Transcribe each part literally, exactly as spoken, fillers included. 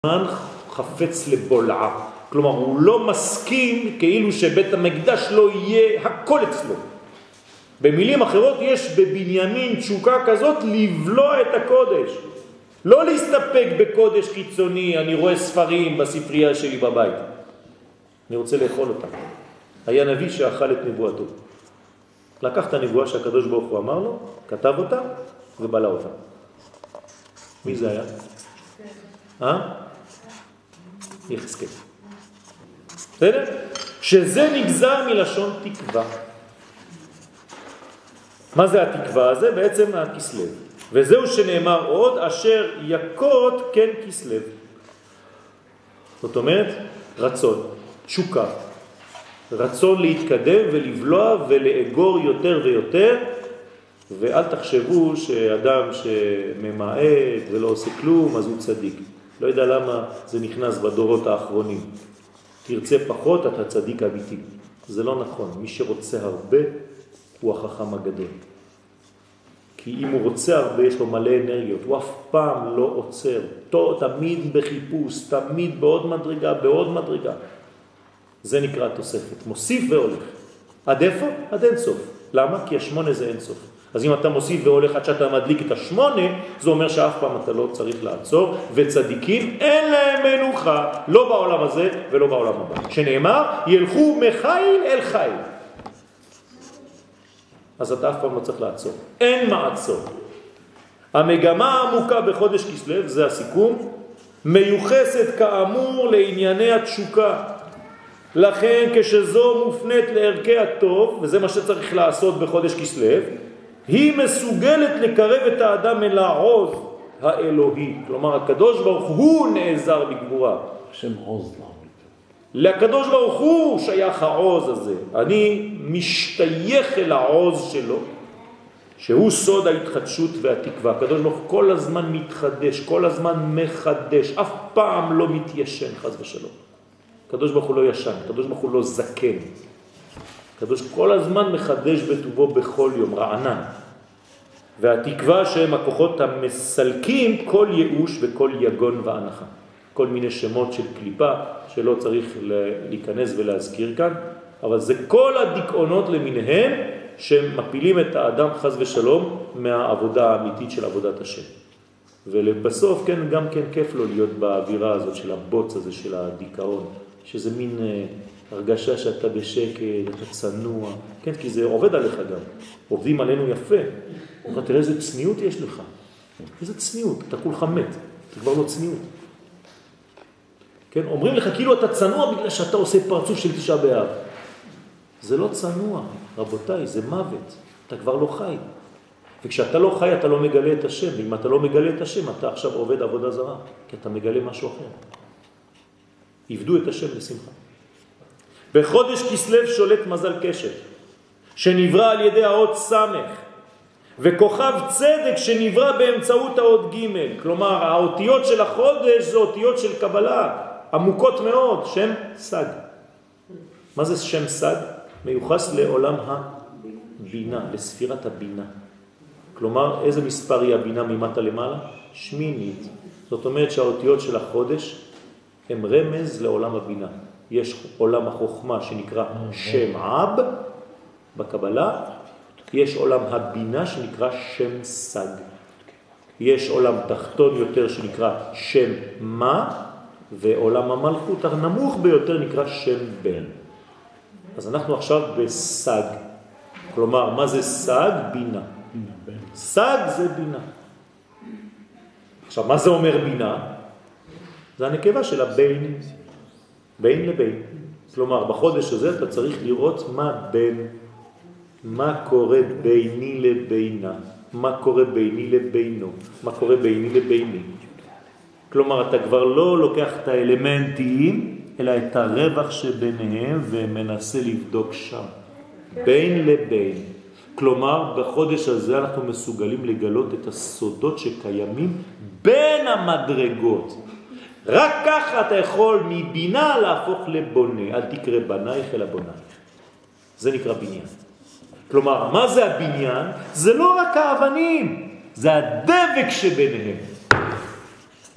חפץ לבולעה. כלומר, הוא לא מסכים כאילו שבית המקדש לא יהיה הכל אצלו. במילים אחרות, יש בבנימין תשוקה כזאת לבלוע את הקודש. לא להסתפק בקודש חיצוני, אני רואה ספרים בספרייה שלי בבית. אני רוצה לאכול אותה. היה נביא שאכל את נבואתו. לקח את הנבואה שהקדוש ברוך הוא אמר לו, כתב אותה ובלע אותה. מי זה היה? אה? יחזקאל. בסדר? שזה נגזר מלשון תקווה. מה זה התקווה הזה? בעצם הכסלב. וזהו שנאמר עוד, אשר יקות כן כסלב. זאת אומרת, רצון, תשוקה. רצון להתקדם ולבלוע ולאגור יותר ויותר, ואל תחשבו שאדם שממעט ולא עושה כלום, אז הוא צדיק. לא יודע למה זה נכנס בדורות האחרונים. תרצה פחות, אתה צדיק אמיתי. זה לא נכון. מי שרוצה הרבה, הוא החכם הגדול. כי אם הוא רוצה הרבה, יש לו מלא אנרגיות. הוא אף פעם לא עוצר. תמיד בחיפוש, תמיד בעוד מדרגה, בעוד מדרגה. זה נקרא תוספת. מוסיף והולך. עד איפה? עד אין סוף. למה? כי השמונה זה אין סוף. אז אם אתה מוסיף והולך עד שאתה מדליק את השמונה, זה אומר שאף פעם אתה לא צריך לעצור, וצדיקים אין להם מנוחה, לא בעולם הזה ולא בעולם הבא. שנאמר, ילכו מחיל אל חיל. אז אתה אף פעם לא צריך לעצור. אין מעצור. המגמה העמוקה בחודש כסלו, זה הסיכום, מיוחסת כאמור לענייני התשוקה. לכן כשזו מופנית לערכי הטוב, וזה מה שצריך לעשות בחודש כסלו, היא מסוגלת לקרב את האדם אל העוז האלוהי. כלומר, הקדוש ברוך הוא נעזר בגבורה. השם עוז לה. לקדוש ברוך הוא שייך העוז הזה. אני משתייך אל העוז שלו, שהוא סוד ההתחדשות והתקווה. הקדוש ברוך הוא כל הזמן מתחדש, כל הזמן מחדש, אף פעם לא מתיישן, חס ושלום. הקדוש ברוך הוא לא ישן, הקדוש ברוך הוא לא זקן. הקדוש כל הזמן מחדש בטובו בכל יום, רענן. והתקווה שהם הכוחות המסלקים כל ייאוש וכל יגון והנחה. כל מיני שמות של קליפה שלא צריך להיכנס ולהזכיר כאן, אבל זה כל הדיכאונות למיניהם שמפילים את האדם חס ושלום מהעבודה האמיתית של עבודת השם. ולבסוף כן, גם כן כיף לו להיות באווירה הזאת של הבוץ הזה של הדיכאון, שזה מין הרגשה שאתה בשקט, אתה צנוע, כן, כי זה עובד עליך גם. עובדים עלינו יפה. אתה תראה איזה צניעות יש לך. איזה צניעות, אתה כולך מת, אתה כבר לא צניעות. כן, אומרים לך כאילו אתה צנוע בגלל שאתה עושה פרצוף של תשעה באב. זה לא צנוע, רבותיי, זה מוות. אתה כבר לא חי. וכשאתה לא חי אתה לא מגלה את השם, ואם אתה לא מגלה את השם אתה עכשיו עובד עבודה זרה, כי אתה מגלה משהו אחר. עבדו את השם בשמחה. בחודש כסלו שולט מזל קשת, שנברא על ידי האות סמך, וכוכב צדק שנברא באמצעות האות ג'. כלומר, האותיות של החודש זה אותיות של קבלה, עמוקות מאוד, שם סג. מה זה שם סג? מיוחס לעולם הבינה, לספירת הבינה. כלומר, איזה מספר היא הבינה ממטה למעלה? שמינית. זאת אומרת שהאותיות של החודש הם רמז לעולם הבינה. יש עולם החוכמה שנקרא שם אב בקבלה, יש עולם הבינה שנקרא שם סג. יש עולם תחתון יותר שנקרא שם מה, ועולם המלכות הנמוך ביותר נקרא שם בן. אז אנחנו עכשיו בסג. כלומר, מה זה סג? בינה. סג זה בינה. עכשיו, מה זה אומר בינה? זה הנקבה של הבין, בין לבין. כלומר, בחודש הזה אתה צריך לראות מה בין, מה קורה ביני לבינה, מה קורה ביני לבינו, מה קורה ביני לביני. כלומר, אתה כבר לא לוקח את האלמנטים, אלא את הרווח שביניהם ומנסה לבדוק שם. בין לבין. כלומר, בחודש הזה אנחנו מסוגלים לגלות את הסודות שקיימים בין המדרגות. רק ככה אתה יכול מבינה להפוך לבונה. אל תקרא בנייך אלא בונייך. זה נקרא בניין. כלומר, מה זה הבניין? זה לא רק האבנים, זה הדבק שביניהם.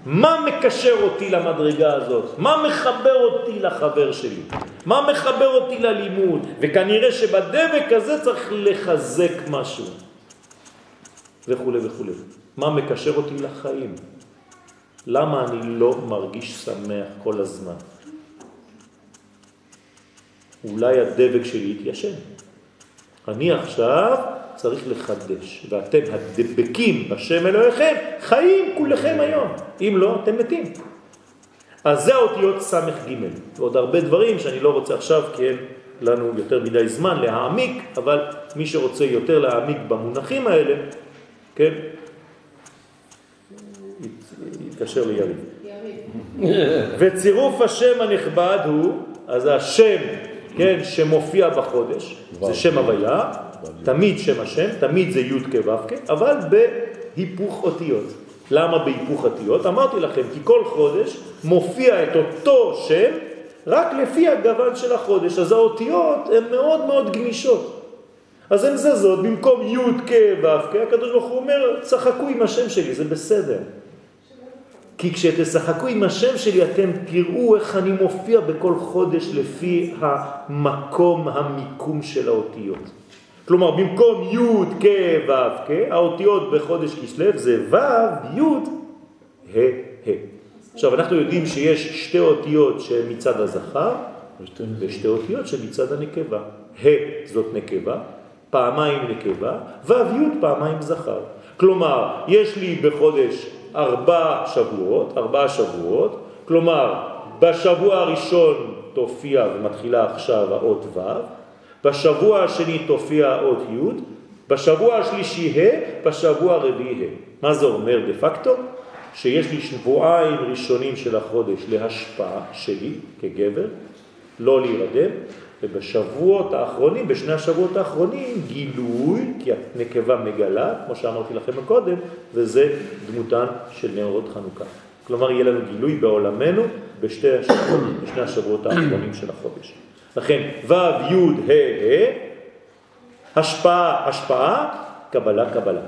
מה מקשר אותי למדרגה הזאת? מה מחבר אותי לחבר שלי? מה מחבר אותי ללימוד? וכנראה שבדבק הזה צריך לחזק משהו. וכו' וכו'. מה מקשר אותי לחיים? למה אני לא מרגיש שמח כל הזמן? אולי הדבק שלי יתיישן. אני עכשיו צריך לחדש, ואתם הדבקים בשם אלוהיכם, חיים כולכם היום. אם לא, אתם מתים. אז זה האותיות סמך ג' ועוד הרבה דברים שאני לא רוצה עכשיו, כי אין לנו יותר מדי זמן להעמיק, אבל מי שרוצה יותר להעמיק במונחים האלה, כן, יתקשר ליריב. וצירוף השם הנכבד הוא, אז השם, כן, שמופיע בחודש, זה שם הוויה, תמיד שם השם, תמיד זה י' כו' כ', אבל בהיפוך אותיות. למה בהיפוך אותיות? אמרתי לכם, כי כל חודש מופיע את אותו שם, רק לפי הגוון של החודש. אז האותיות הן מאוד מאוד גמישות. אז הן זזות, במקום י' כ' ו' כ', הקדוש ברוך הוא אומר, צחקו עם השם שלי, זה בסדר. כי כשתשחקו עם השם שלי, אתם תראו איך אני מופיע בכל חודש לפי המקום, המיקום של האותיות. כלומר, במקום י' כ' ו' כ', האותיות בחודש כסלו זה ו', י', ה', ה'. עכשיו, אנחנו יודעים שיש שתי אותיות שמצד הזכר, ושתי אותיות שמצד הנקבה. ה' זאת נקבה, פעמיים נקבה, ו', י' פעמיים זכר. כלומר, יש לי בחודש ארבע שבועות, ארבע שבועות, כלומר, בשבוע הראשון תופיע ומתחילה עכשיו האות ו', בשבוע השני תופיע האות י', בשבוע השלישי ה', בשבוע הרביעי ה'. מה זה אומר דה פקטו? שיש לי שבועיים ראשונים של החודש להשפעה שלי כגבר, לא להירדם, ובשבועות האחרונים, בשני השבועות האחרונים, גילוי, כי הנקבה מגלה, כמו שאמרתי לכם קודם, וזה דמותן של נרות חנוכה. כלומר, יהיה לנו גילוי בעולמנו בשתי השבועות, בשני השבועות האחרונים של החודש. לכן, ו' י' ה' ה', השפעה, השפעה, קבלה, קבלה.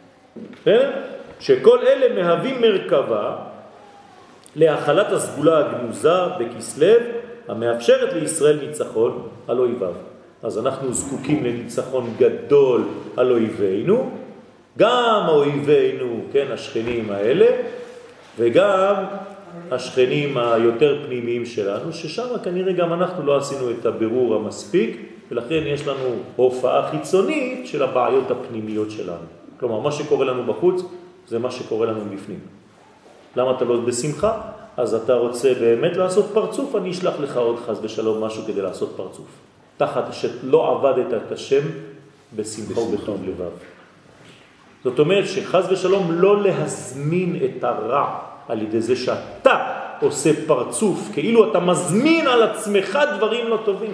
שכל אלה מהווים מרכבה להחלת הסגולה הגנוזה בכסלו, המאפשרת לישראל ניצחון על אויביו. אז אנחנו זקוקים לניצחון גדול על אויבינו, גם אויבינו, כן, השכנים האלה, וגם השכנים היותר פנימיים שלנו, ששם כנראה גם אנחנו לא עשינו את הבירור המספיק, ולכן יש לנו הופעה חיצונית של הבעיות הפנימיות שלנו. כלומר, מה שקורה לנו בחוץ, זה מה שקורה לנו בפנים. למה אתה לא בשמחה? אז אתה רוצה באמת לעשות פרצוף, אני אשלח לך עוד חס ושלום משהו כדי לעשות פרצוף. תחת שלא עבדת את השם בשמחה ובטוב לבב. זאת אומרת שחס ושלום לא להזמין את הרע על ידי זה שאתה עושה פרצוף, כאילו אתה מזמין על עצמך דברים לא טובים.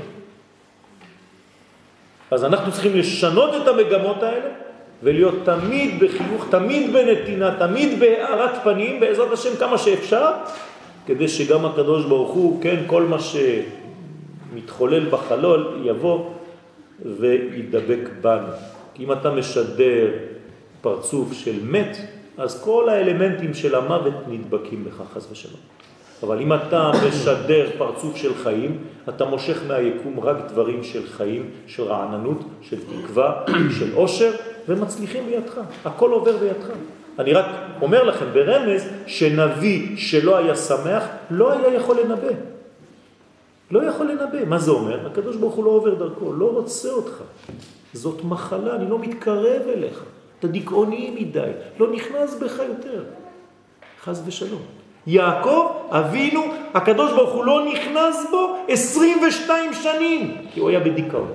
אז אנחנו צריכים לשנות את המגמות האלה, ולהיות תמיד בחיוך, תמיד בנתינה, תמיד בהארת פנים, בעזרת השם כמה שאפשר, כדי שגם הקדוש ברוך הוא, כן, כל מה שמתחולל בחלול יבוא וידבק בנו. כי אם אתה משדר פרצוף של מת, אז כל האלמנטים של המוות נדבקים בך חס ושלום. אבל אם אתה משדר פרצוף של חיים, אתה מושך מהיקום רק דברים של חיים, של רעננות, של תקווה, של עושר, ומצליחים בידך. הכל עובר בידך. אני רק אומר לכם ברמז שנביא שלא היה שמח, לא היה יכול לנבא. לא יכול לנבא. מה זה אומר? הקדוש ברוך הוא לא עובר דרכו, לא רוצה אותך. זאת מחלה, אני לא מתקרב אליך. אתה דיכאוני מדי, לא נכנס בך יותר. חס ושלום. יעקב, אבינו, הקדוש ברוך הוא לא נכנס בו עשרים ושתיים שנים, כי הוא היה בדיכאון.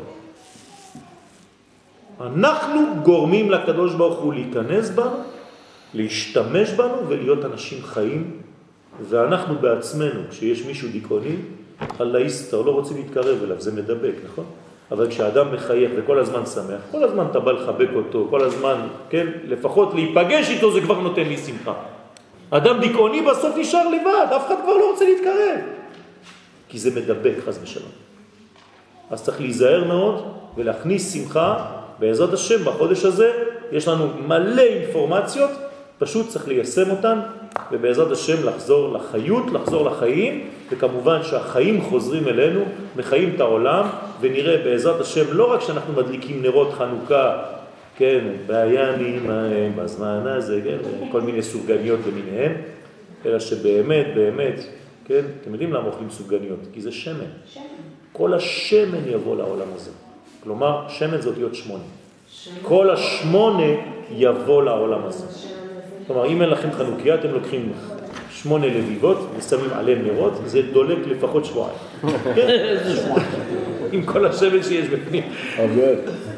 אנחנו גורמים לקדוש ברוך הוא להיכנס בנו, להשתמש בנו ולהיות אנשים חיים, ואנחנו בעצמנו, כשיש מישהו דיכאוני, אללה יסתר, לא רוצים להתקרב אליו, זה מדבק, נכון? אבל כשאדם מחייך וכל הזמן שמח, כל הזמן אתה בא לחבק אותו, כל הזמן, כן, לפחות להיפגש איתו זה כבר נותן לי שמחה. אדם דיכאוני בסוף נשאר לבד, אף אחד כבר לא רוצה להתקרב. כי זה מדבק, חס ושלום. אז צריך להיזהר מאוד ולהכניס שמחה בעזרת השם בחודש הזה. יש לנו מלא אינפורמציות, פשוט צריך ליישם אותן ובעזרת השם לחזור לחיות, לחזור לחיים, וכמובן שהחיים חוזרים אלינו, מחיים את העולם, ונראה בעזרת השם לא רק שאנחנו מדליקים נרות חנוכה, כן, בימים ההם, בזמן הזה, כן, כל מיני סופגניות למיניהם, אלא שבאמת, באמת, כן, אתם יודעים למה אוכלים סופגניות? כי זה שמן. שמן. כל השמן יבוא לעולם הזה. כלומר, שמן זה אותיות שמונה. שמן. כל השמונה יבוא לעולם הזה. כלומר, אם אין לכם חנוכיה, אתם לוקחים שמונה לביבות ושמים עליהם נרות, זה דולק לפחות שבועיים. כן? עם כל השמן שיש בפנים. אבל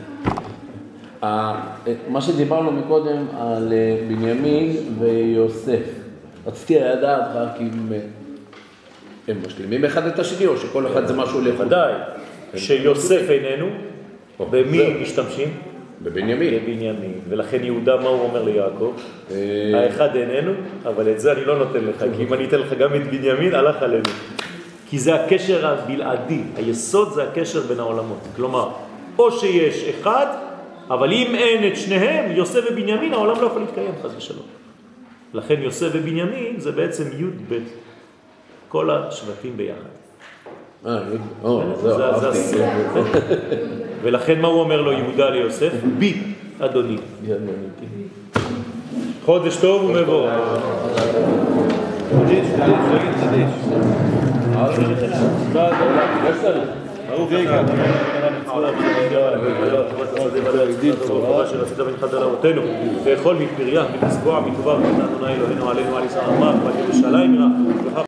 מה שדיברנו מקודם על בנימין ויוסף, רציתי לדעת רק אם הם משלימים אחד את השני או שכל אחד זה משהו לחוד. ודאי, שיוסף איננו, במי משתמשים? בבנימין. בבנימין, ולכן יהודה מה הוא אומר ליעקב? האחד איננו, אבל את זה אני לא נותן לך, כי אם אני אתן לך גם את בנימין, הלך עלינו. כי זה הקשר הבלעדי, היסוד זה הקשר בין העולמות. כלומר, או שיש אחד, אבל אם אין את שניהם, יוסף ובנימין, העולם לא יכול להתקיים, חס ושלום. לכן יוסף ובנימין זה בעצם י' ב' כל השבטים ביחד. אה, זה אהבתי. ולכן מה הוא אומר לו יהודה ליוסף? בי, אדוני. חודש טוב ומבוא. חודש, חודש, חודש. ברוך אתה. שרצית ונחת על אבותינו, לאכול מפריה, מלסבוע, מטובה, ונתנו אלוהינו עלינו על ישראל אמר, ועל ירושלים יראה.